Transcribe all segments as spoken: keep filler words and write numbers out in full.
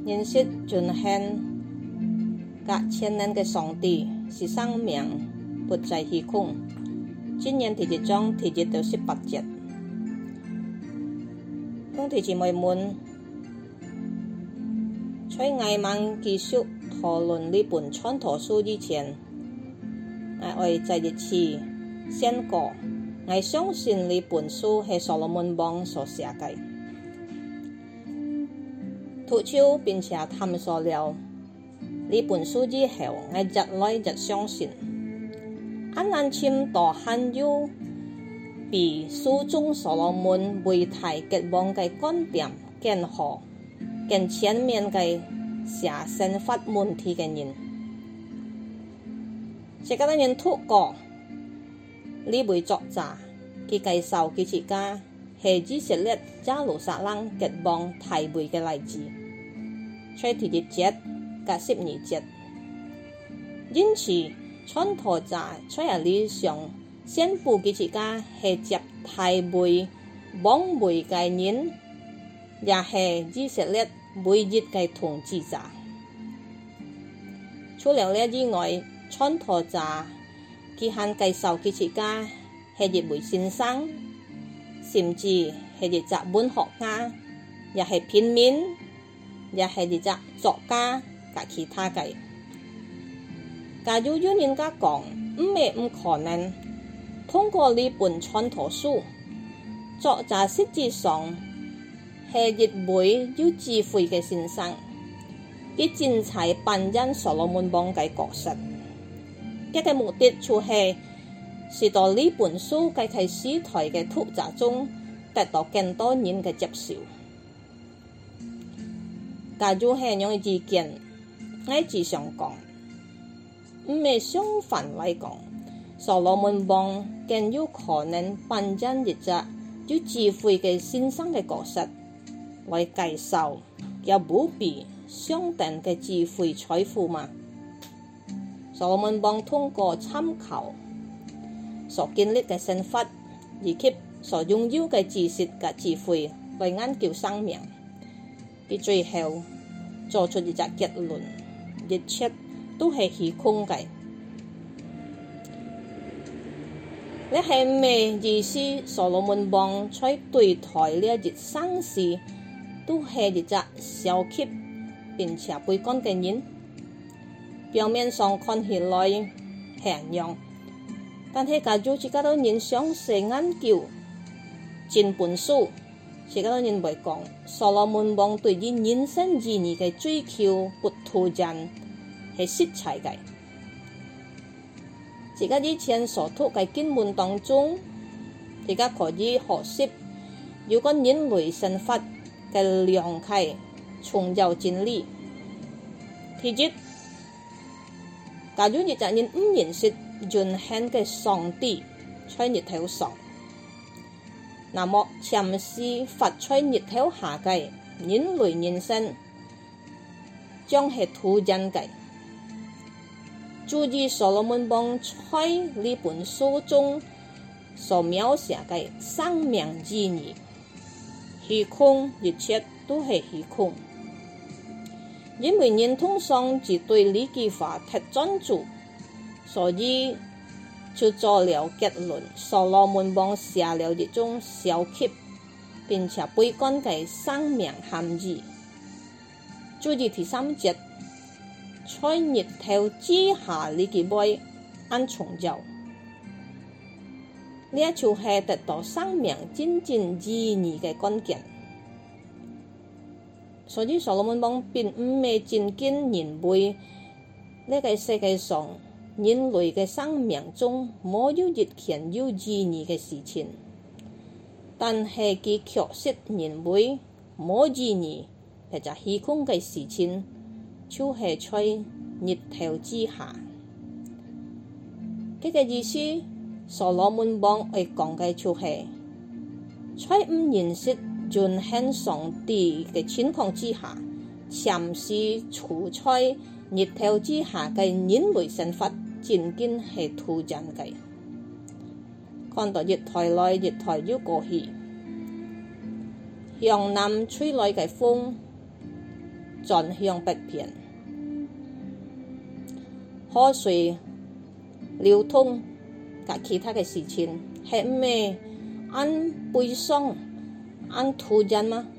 認識盡顯隔千年嘅上帝是生命不在虛空。今年第一章第一到十八節，兄弟姊妹們，在我們繼續討論呢本傳道書之前，我會再一次宣告，我相信呢本書係所羅門王所寫嘅。讀書並且探索了呢本書之後，我日來日相信，很難簽到很有比書中所羅門為大結王嘅觀點更好、更全面嘅寫生活問題嘅人。這個人透過呢位作者，佢介紹佢自家係以色列耶路撒冷結王大會嘅例子，在第一節及十二節。因此，傳道者在呢上宣布佢自家係接大會王位嘅人，也係以色列每日嘅統治者。除了呢以外，傳道者佢還介紹佢自家係一位先生，甚至係一隻文學家，也係平民，也係一隻作家及其他嘅。假如有人家講唔係唔可能，通過呢本傳道書，作者實際上係一位有智慧嘅先生，佢精彩扮演所羅門王嘅角色。佢嘅目的就係使到呢本書喺佢時代嘅讀者中得到更多人嘅接受。假如係用意見，我只想講，唔係相反嚟講，所羅門王更有可能扮演一隻有智慧嘅先生嘅角色，來介紹有無比相等嘅智慧財富嘛。所羅門王通過參考所經歷嘅生活，以及所擁有嘅知識嘅智慧來研究生命，佢最後做出一個結論：一切都係虛空嘅。你係咩意思？所羅門王在對待呢一生事，都係一隻小氣並且悲觀嘅人。表面上看起來係咁樣，但係假如自己都人詳細研究整本書，自己都認為講所羅門王對於人生意義嘅追求不突然係實在嘅。自己以前所讀嘅經文當中，自己可以學習有關人類生活嘅良啟重要真理。第一，假如一個人唔認識永恆嘅上帝在日頭上，那麼潛是活在日頭下嘅人類人生將係突然嘅。注意所羅門王在呢本書中所描寫嘅生命意義，虛空一切都係虛空。因為人通常只對呢句話太專注，所以就做了結論。所羅門王寫了一種小氣並且悲觀嘅生命含義。注意第三節，在日頭之下呢句話很重要，呢一就係得到生命真正意義嘅關鍵。所以所羅門王並唔係真經認為呢個世界上人類嘅生命中沒有一件有意義嘅事情，但係佢確實認為冇意義或者虛空嘅事情就係在日頭之下。佢嘅意思，所羅門王會講嘅就係在唔認識永恆上帝嘅情況之下，潛是處在日頭之下嘅人類生活，真經係突然嘅。看到日台來，日台要過去，向南吹來嘅風， 轉向北邊，河水流通及其他嘅事情係咩按悲傷、按突然嗎？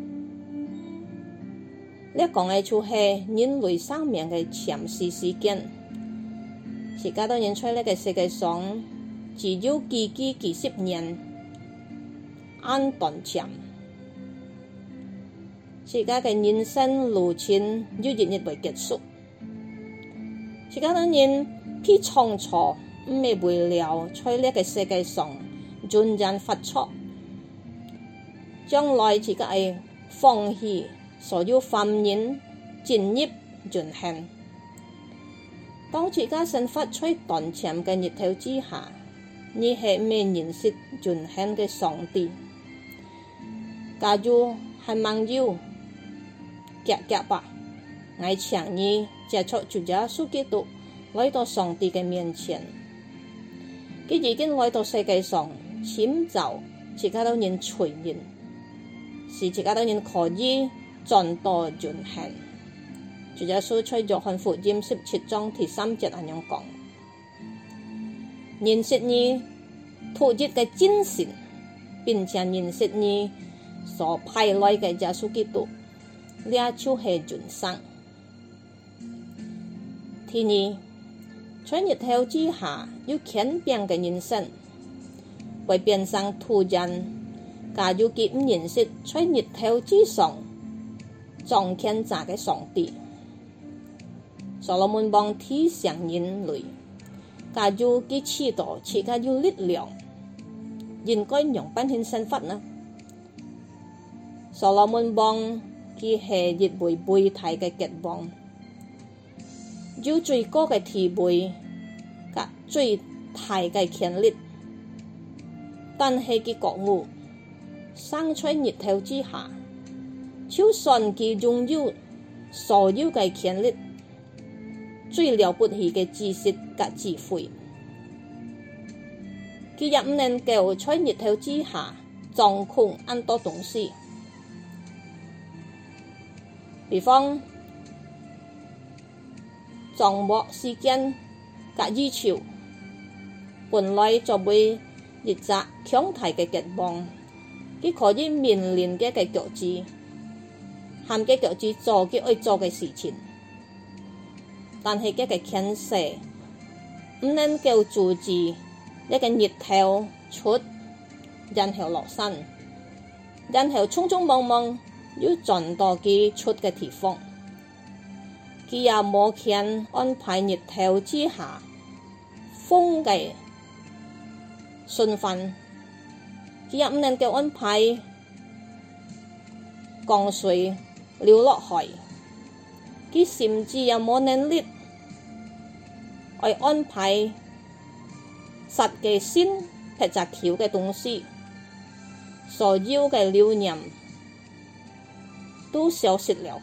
呢講嘅就係人類生命嘅潛視時間。時間當然在呢個世界上只有幾幾幾十年，按短暫。自家嘅人生路程要日日為結束，自家當然偏創錯，唔係為了在呢個世界上盡人發出，將來自家係放棄所有繁衍進入進行。當自家生活在短暫嘅日頭之下，你係未認識進行嘅上帝。假如係網友夾夾吧，我請你接觸主耶穌基督，來到上帝嘅面前。佢已經來到世界上，尋找自家當人隨人，使自家當人可以轉到進行。主耶穌在約翰福音十七章第三節咁樣講：認識你獨一嘅真神，並且認識你所派來嘅耶穌基督，呢就係人生。第二，在日頭之下要簡便嘅人生，會變成突然，假如佢唔認識在日頭之上彰顯者嘅上帝。所羅門王提醒人類，假如佢知道自己有力量，應該用乜嘢生活呢？所羅門王佢係一位偉大嘅國王，有最高嘅地位及最大嘅權力，但係佢覺悟生在日頭之下，就算佢擁有所有嘅權力，最了不起嘅知識及智慧，佢也唔能夠在日頭之下掌控很多東西。比方掌握時間及意潮，本來作為一隻強大嘅國王，佢可以面臨嘅嘅局子，含嘅局子做佢愛做嘅事情。但係嘅嘅權勢唔能夠阻止一個日頭出，然後落山，然後匆匆忙忙要轉到佢出嘅地方。佢也冇權安排日頭之下風嘅順範，佢也唔能夠安排江水流落海。佢甚至也冇能力去安排實嘅先劈隻橋嘅東西，所有嘅留念都消失了。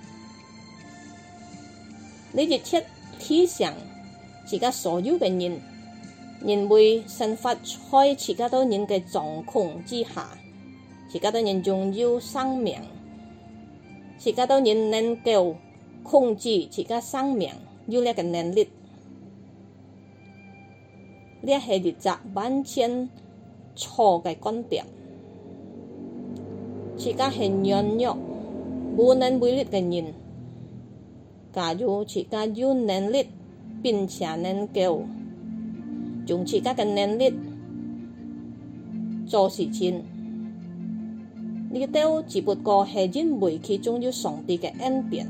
呢一切提醒自己所有嘅人，因為生活在自己多人嘅掌控之下，自己多人擁有生命，自己多人能夠控制自己生命，有呢個能力。呢係一隻完全錯嘅觀點。自己係軟弱、無能為力嘅人，假如自己有能力並且能夠用自己嘅能力做事情，呢都只不過係因為其中有上帝嘅恩典。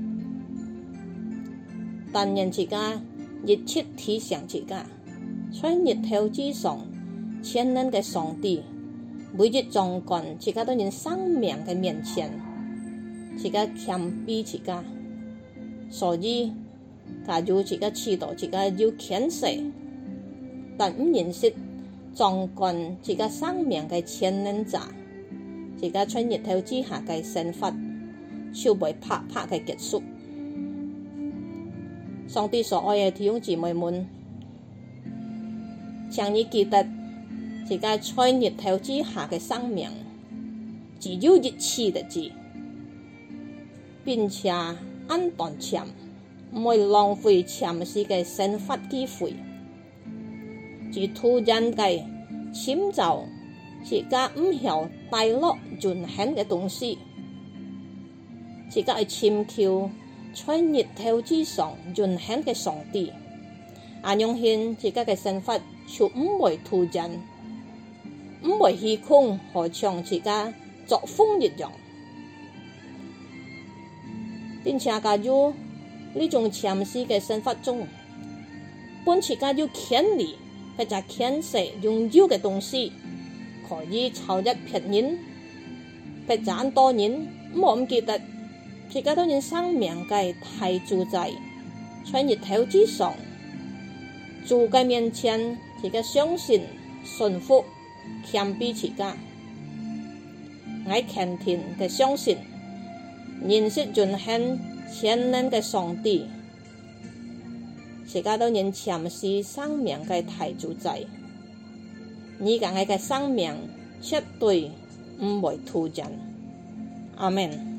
但人自己熱切提醒自己，在日頭之上，全能嘅上帝每日掌管自己當人生命嘅面前，自己謙卑自己。所以，假如自己知道自己有權勢，但唔認識掌管自己生命嘅全能者，自己在日頭之下嘅生活就會拍拍嘅結束。上帝所愛嘅弟兄姊妹們，請你記得自己在日頭之下嘅生命只有一次的字， 並且安頓禪，唔會浪費禪師嘅生活機會。自突然嘅遷就，自家唔曉帶落盡顯嘅東西，自家係尋求在日頭之上盡顯嘅上帝，安用現自家嘅生活就唔會突然，唔會虛空，好像自家作風一樣。並且加入呢種禪師嘅生活中，本自家要權利或者權勢擁有嘅東西，可以超越別人，或者很多人唔唔記得自家當然生命嘅大主宰，在日頭之上，主嘅面前，自家相信、順服、謙卑自家，我虔誠嘅相信。認識盡顯全能嘅上帝，自家都認禪師生命嘅大主宰，你講嘅生命絕對唔會突然。阿們。